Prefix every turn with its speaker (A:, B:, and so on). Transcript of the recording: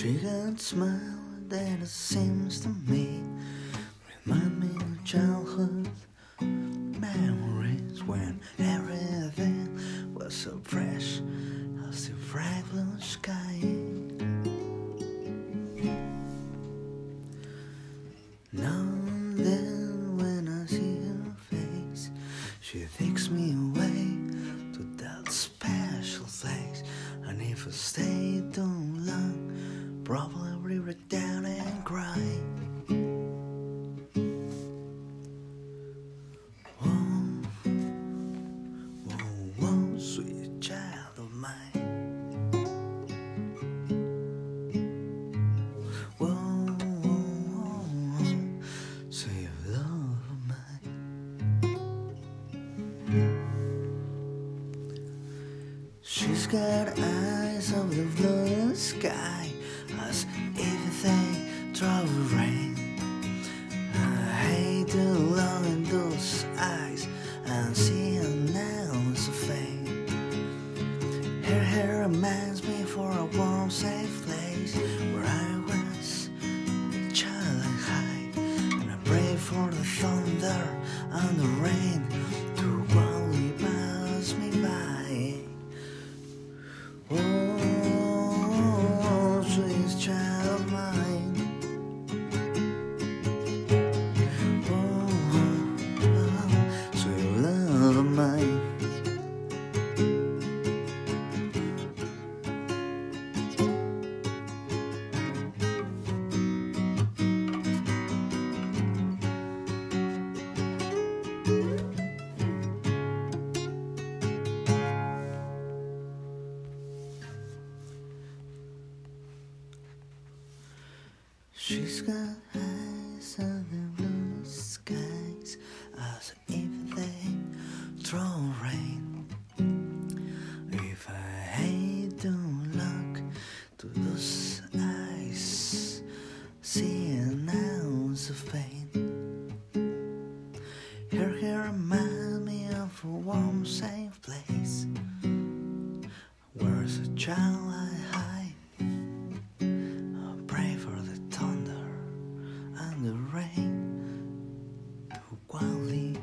A: She got a smile that it seems to me remind me of childhood memories when everything was so fresh as the bright blue sky. Now and then when I see her face, she takes me away to that special place. And if I stay too long, probably break down and cry. Whoa, whoa, whoa, sweet child of mine. Whoa, whoa, whoa, sweet love of mine. She's got eyes of the blue sky, as if they drove rain. I hate to look in those eyes and see an ounce of fame. Her hair reminds me for a warm, safe place where I was a child and high, and I pray for the thunder and the rain to quietly pass me by. Oh, sweet child of mine. Oh, sweet love of mine. She's got eyes of the blue skies, as if they throw rain. If I hate to look to those eyes, see an ounce of pain. Her hair reminds me of a warm, safe place where as a child I hide. I pray for the thunder and the rain to quietly